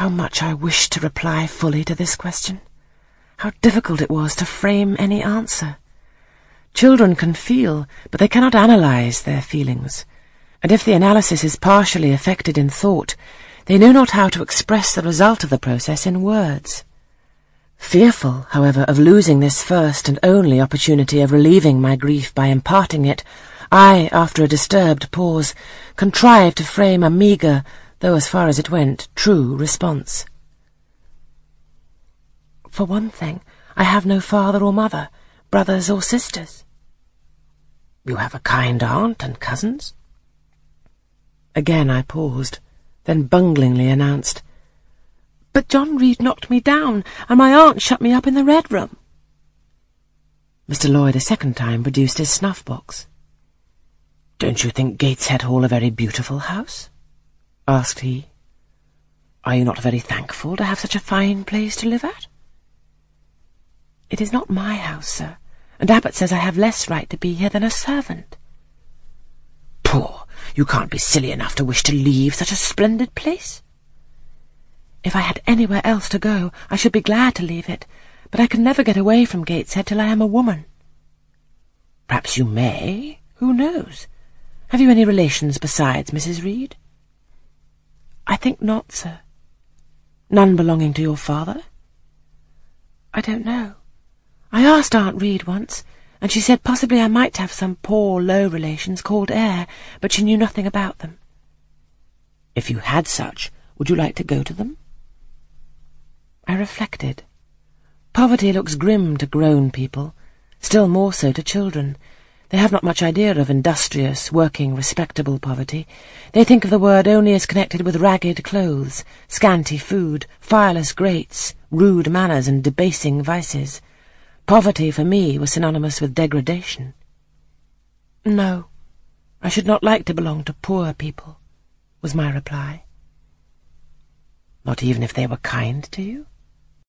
How much I wished to reply fully to this question. How difficult it was to frame any answer. Children can feel, but they cannot analyse their feelings, and if the analysis is partially effected in thought, they know not how to express the result of the process in words. Fearful, however, of losing this first and only opportunity of relieving my grief by imparting it, I, after a disturbed pause, contrived to frame a meagre, though as far as it went, true response. For one thing, I have no father or mother, brothers or sisters. You have a kind aunt and cousins? Again I paused, then bunglingly announced, But John Reed knocked me down, and my aunt shut me up in the Red Room. Mr. Lloyd a second time produced his snuff-box. Don't you think Gateshead Hall a very beautiful house? Asked he. Are you not very thankful to have such a fine place to live at? It is not my house, sir, and Abbot says I have less right to be here than a servant. Poor! You can't be silly enough to wish to leave such a splendid place. If I had anywhere else to go, I should be glad to leave it, but I can never get away from Gateshead till I am a woman. Perhaps you may. Who knows? Have you any relations besides Mrs. Reed? I think not, sir. None belonging to your father? I don't know. I asked Aunt Reed once, and she said possibly I might have some poor, low relations called Eyre, but she knew nothing about them. If you had such, would you like to go to them? I reflected. Poverty looks grim to grown people, still more so to children. They have not much idea of industrious, working, respectable poverty. They think of the word only as connected with ragged clothes, scanty food, fireless grates, rude manners and debasing vices. Poverty for me was synonymous with degradation. No, I should not like to belong to poor people, was my reply. Not even if they were kind to you?